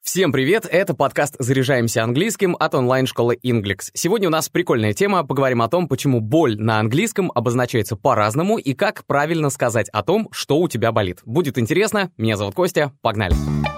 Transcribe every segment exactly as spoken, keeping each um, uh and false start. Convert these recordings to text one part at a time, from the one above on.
Всем привет, это подкаст «Заряжаемся английским» от онлайн-школы Inglix. Сегодня у нас прикольная тема, поговорим о том, почему боль на английском обозначается по-разному и как правильно сказать о том, что у тебя болит. Будет интересно, меня зовут Костя, погнали!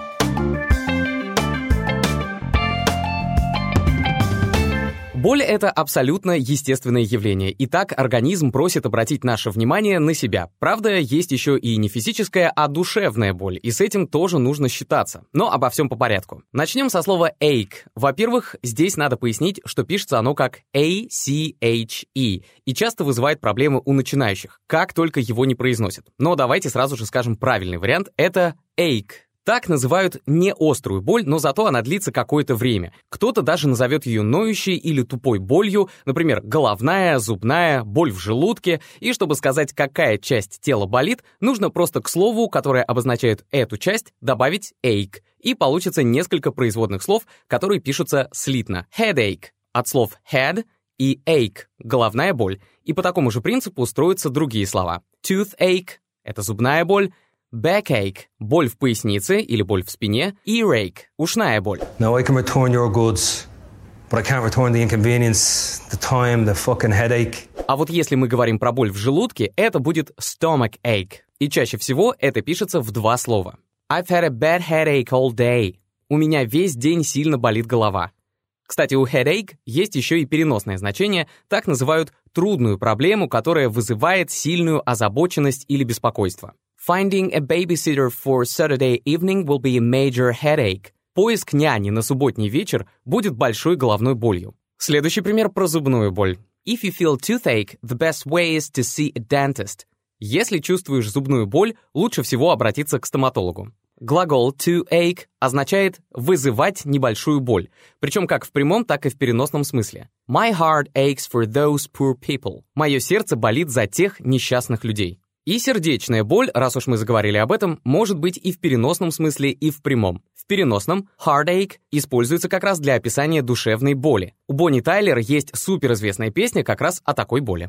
Боль — это абсолютно естественное явление, и так организм просит обратить наше внимание на себя. Правда, есть еще и не физическая, а душевная боль, и с этим тоже нужно считаться. Но обо всем по порядку. Начнем со слова ache. Во-первых, здесь надо пояснить, что пишется оно как A C H E, и часто вызывает проблемы у начинающих, как только его не произносят. Но давайте сразу же скажем правильный вариант — это ache. Так называют не острую боль, но зато она длится какое-то время. Кто-то даже назовет ее ноющей или тупой болью, например, головная, зубная, боль в желудке. И чтобы сказать, какая часть тела болит, нужно просто к слову, которое обозначает эту часть, добавить ache. И получится несколько производных слов, которые пишутся слитно. Headache от слов head и ache — головная боль. И по такому же принципу строятся другие слова. Toothache — это зубная боль. Backache – боль в пояснице или боль в спине. Earache – ушная боль. Now I can return your goods, but I can't return the inconvenience, the time, the fucking headache. А вот если мы говорим про боль в желудке, это будет stomachache. И чаще всего это пишется в два слова. I've had a bad headache all day. У меня весь день сильно болит голова. Кстати, у headache есть еще и переносное значение, так называют трудную проблему, которая вызывает сильную озабоченность или беспокойство. Finding a babysitter for Saturday evening will be a major headache. Поиск няни на субботний вечер будет большой головной болью. Следующий пример про зубную боль. If you feel toothache, the best way is to see a dentist. Если чувствуешь зубную боль, лучше всего обратиться к стоматологу. Глагол to ache означает вызывать небольшую боль, причем как в прямом, так и в переносном смысле. My heart aches for those poor people. Мое сердце болит за тех несчастных людей. И сердечная боль, раз уж мы заговорили об этом, может быть и в переносном смысле, и в прямом. В переносном heartache используется как раз для описания душевной боли. У Бонни Тайлер есть суперизвестная песня как раз о такой боли.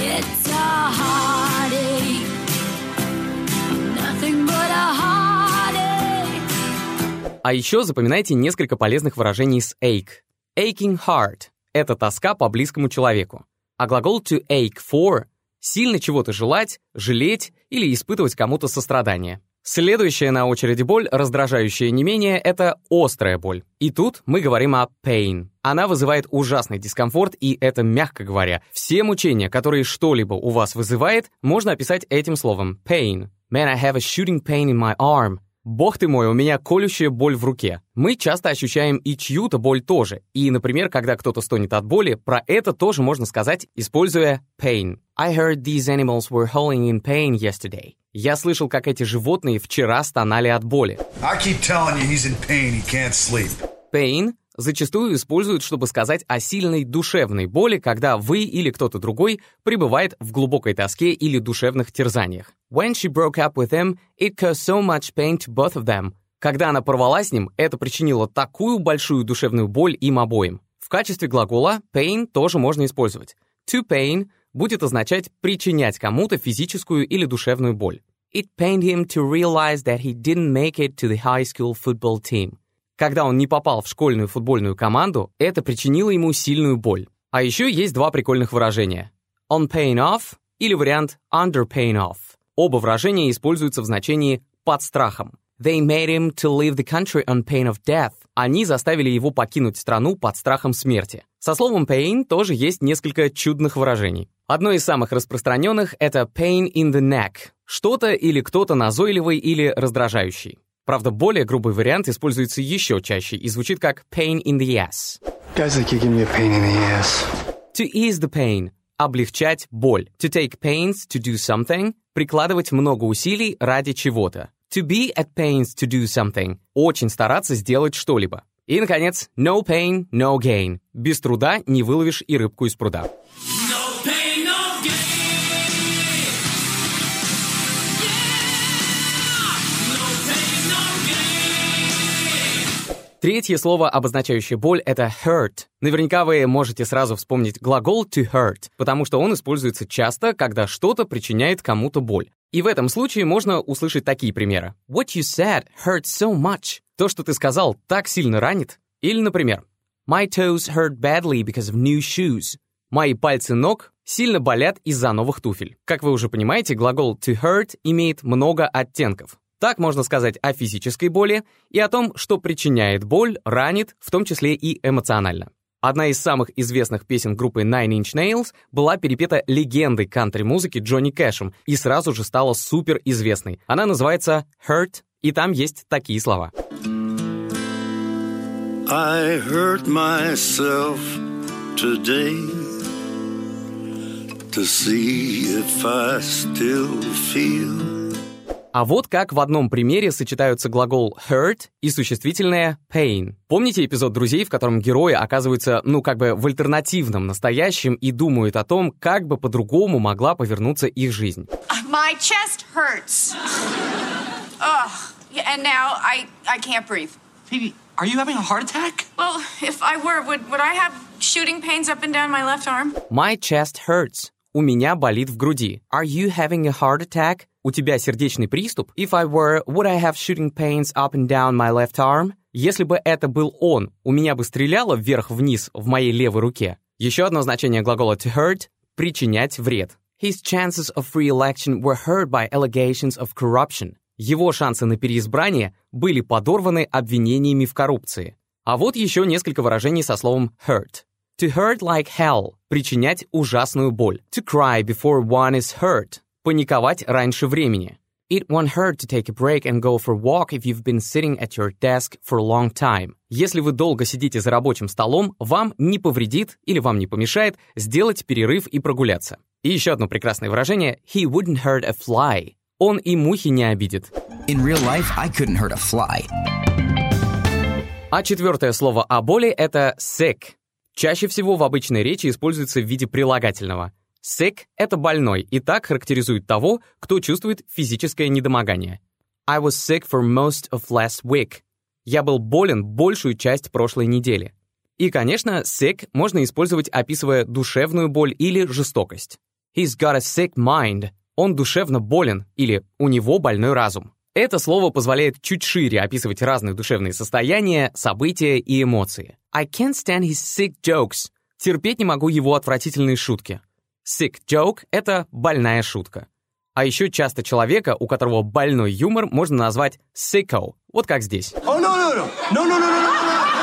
А еще запоминайте несколько полезных выражений с ache. Aching heart — это тоска по близкому человеку. А глагол to ache for — сильно чего-то желать, жалеть или испытывать кому-то сострадание. Следующая на очереди боль, раздражающая не менее, это острая боль. И тут мы говорим о pain. Она вызывает ужасный дискомфорт, и это мягко говоря. Все мучения, которые что-либо у вас вызывает, можно описать этим словом pain. Man, I have a shooting pain in my arm. Бог ты мой, у меня колющая боль в руке. Мы часто ощущаем и чью-то боль тоже. И, например, когда кто-то стонет от боли, про это тоже можно сказать, используя pain. I heard these animals were howling in pain yesterday. Я слышал, как эти животные вчера стонали от боли. I keep telling you he's in pain, he can't sleep. Pain зачастую используют, чтобы сказать о сильной душевной боли, когда вы или кто-то другой пребывает в глубокой тоске или душевных терзаниях. When she broke up with him, it caused so much pain to both of them. Когда она порвала с ним, это причинило такую большую душевную боль им обоим. В качестве глагола pain тоже можно использовать. To pain будет означать причинять кому-то физическую или душевную боль. It pained him to realize that he didn't make it to the high school football team. Когда он не попал в школьную футбольную команду, это причинило ему сильную боль. А еще есть два прикольных выражения. On pain of или вариант under pain of. Оба выражения используются в значении «под страхом». They made him to leave the country on pain of death. Они заставили его покинуть страну под страхом смерти. Со словом pain тоже есть несколько чудных выражений. Одно из самых распространенных — это pain in the neck. Что-то или кто-то назойливый или раздражающий. Правда, более грубый вариант используется еще чаще и звучит как pain in the ass. Guys like you give me a pain in the ass. To ease the pain — облегчать боль. To take pains to do something — прикладывать много усилий ради чего-то. To be at pains to do something — очень стараться сделать что-либо. И, наконец, no pain, no gain — без труда не выловишь и рыбку из пруда. Третье слово, обозначающее боль, это hurt. Наверняка вы можете сразу вспомнить глагол to hurt, потому что он используется часто, когда что-то причиняет кому-то боль. И в этом случае можно услышать такие примеры. What you said hurt so much. То, что ты сказал, так сильно ранит. Или, например, My toes hurt badly because of new shoes. Мои пальцы ног сильно болят из-за новых туфель. Как вы уже понимаете, глагол to hurt имеет много оттенков. Так можно сказать о физической боли и о том, что причиняет боль, ранит, в том числе и эмоционально. Одна из самых известных песен группы Nine Inch Nails была перепета легендой кантри-музыки Джонни Кэшем и сразу же стала суперизвестной. Она называется «Hurt», и там есть такие слова. I hurt myself today to see if I still feel. А вот как в одном примере сочетаются глагол hurt и существительное pain. Помните эпизод «Друзей», в котором герои оказываются, ну, как бы в альтернативном настоящем и думают о том, как бы по-другому могла повернуться их жизнь? My chest hurts. Ugh. And now I, I can't breathe. Phoebe, are you having a heart attack? Well, if I were, would, would I have shooting pains up and down my left arm? My chest hurts. У меня болит в груди. Are you having a heart attack? У тебя сердечный приступ? If I were, would I have shooting pains up and down my left arm? Если бы это был он, у меня бы стреляло вверх-вниз в моей левой руке. Еще одно значение глагола to hurt — причинять вред. His chances of re-election were hurt by allegations of corruption. Его шансы на переизбрание были подорваны обвинениями в коррупции. А вот еще несколько выражений со словом hurt. To hurt like hell — причинять ужасную боль. To cry before one is hurt — паниковать раньше времени. It won't hurt to take a break and go for a walk if you've been sitting at your desk for a long time. Если вы долго сидите за рабочим столом, вам не повредит или вам не помешает сделать перерыв и прогуляться. И еще одно прекрасное выражение — he wouldn't hurt a fly. Он и мухи не обидит. In real life, I couldn't hurt a fly. А четвертое слово о боли — это sick. Чаще всего в обычной речи используется в виде прилагательного. Sick — это больной, и так характеризует того, кто чувствует физическое недомогание. I was sick for most of last week. Я был болен большую часть прошлой недели. И, конечно, sick можно использовать, описывая душевную боль или жестокость. He's got a sick mind. Он душевно болен, или у него больной разум. Это слово позволяет чуть шире описывать разные душевные состояния, события и эмоции. I can't stand his sick jokes. Терпеть не могу его отвратительные шутки. Sick joke — это больная шутка. А еще часто человека, у которого больной юмор, можно назвать sicko. Вот как здесь. Oh, no, no, no. No, no, no, no, no.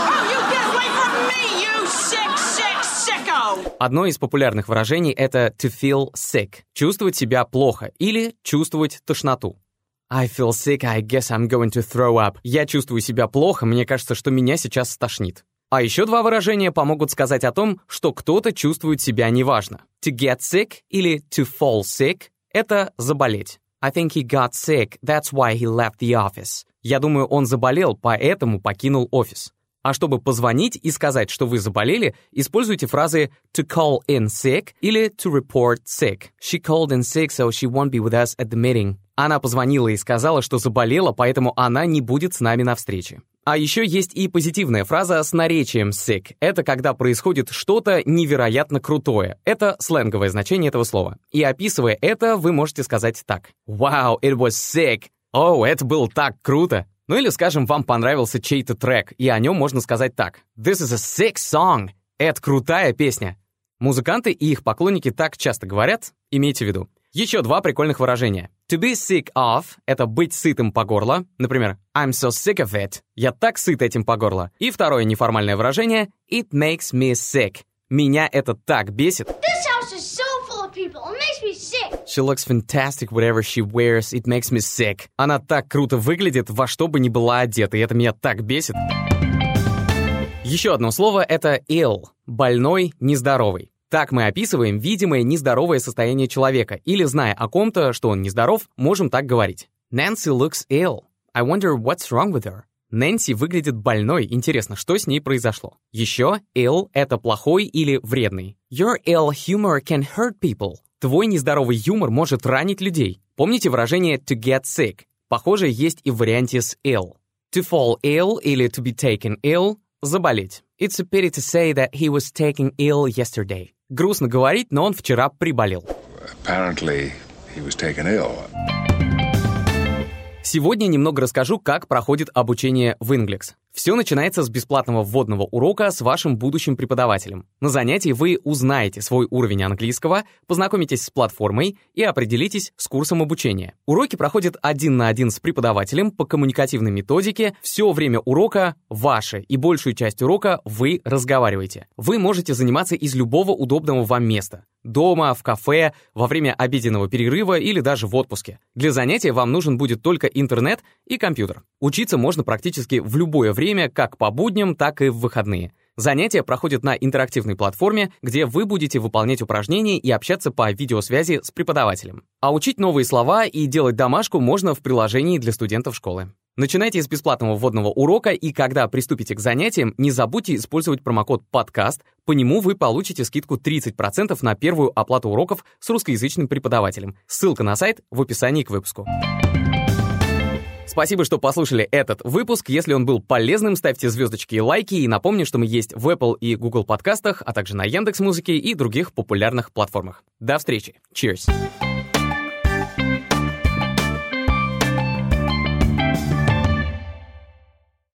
Одно из популярных выражений — это to feel sick — чувствовать себя плохо или чувствовать тошноту. I feel sick, I guess I'm going to throw up. Я чувствую себя плохо, мне кажется, что меня сейчас стошнит. А еще два выражения помогут сказать о том, что кто-то чувствует себя неважно. To get sick или to fall sick — это заболеть. I think he got sick, that's why he left the office. Я думаю, он заболел, поэтому покинул офис. А чтобы позвонить и сказать, что вы заболели, используйте фразы to call in sick или to report sick. She called in sick, so she won't be with us at the meeting. Она позвонила и сказала, что заболела, поэтому она не будет с нами на встрече. А еще есть и позитивная фраза с наречием sick. Это когда происходит что-то невероятно крутое. Это сленговое значение этого слова. И описывая это, вы можете сказать так. Wow, it was sick. О, это было так круто. Ну или, скажем, вам понравился чей-то трек, и о нем можно сказать так. This is a sick song. Это крутая песня. Музыканты и их поклонники так часто говорят, имейте в виду. Еще два прикольных выражения. To be sick of — это быть сытым по горло. Например, I'm so sick of it. Я так сыт этим по горло. И второе неформальное выражение It makes me sick. Меня это так бесит. This house is so full of people. It makes me sick. She looks fantastic whatever she wears. It makes me sick. Она так круто выглядит, во что бы ни была одета, и это меня так бесит. Еще одно слово — это ill. Больной, нездоровый. Так мы описываем видимое нездоровое состояние человека, или, зная о ком-то, что он нездоров, можем так говорить. Nancy looks ill. I wonder what's wrong with her. Нэнси выглядит больной. Интересно, что с ней произошло? Еще ill — это плохой или вредный. Your ill humor can hurt people. Твой нездоровый юмор может ранить людей. Помните выражение to get sick? Похоже, есть и в варианте с ill. To fall ill или to be taken ill — заболеть. It's a pity to say that he was taken ill yesterday. Грустно говорить, но он вчера приболел. Apparently, he was taken ill. Сегодня немного расскажу, как проходит обучение в Inglex. Все начинается с бесплатного вводного урока с вашим будущим преподавателем. На занятии вы узнаете свой уровень английского, познакомитесь с платформой и определитесь с курсом обучения. Уроки проходят один на один с преподавателем по коммуникативной методике. Все время урока ваше, и большую часть урока вы разговариваете. Вы можете заниматься из любого удобного вам места. Дома, в кафе, во время обеденного перерыва или даже в отпуске. Для занятия вам нужен будет только интернет и компьютер. Учиться можно практически в любое время, как по будням, так и в выходные. Занятия проходят на интерактивной платформе, где вы будете выполнять упражнения и общаться по видеосвязи с преподавателем. А учить новые слова и делать домашку можно в приложении для студентов школы. Начинайте с бесплатного вводного урока, и когда приступите к занятиям, не забудьте использовать промокод «Подкаст». По нему вы получите скидку тридцать процентов на первую оплату уроков с русскоязычным преподавателем. Ссылка на сайт в описании к выпуску. Спасибо, что послушали этот выпуск. Если он был полезным, ставьте звездочки и лайки. И напомню, что мы есть в Apple и Google подкастах, а также на Яндекс.Музыке и других популярных платформах. До встречи. Cheers!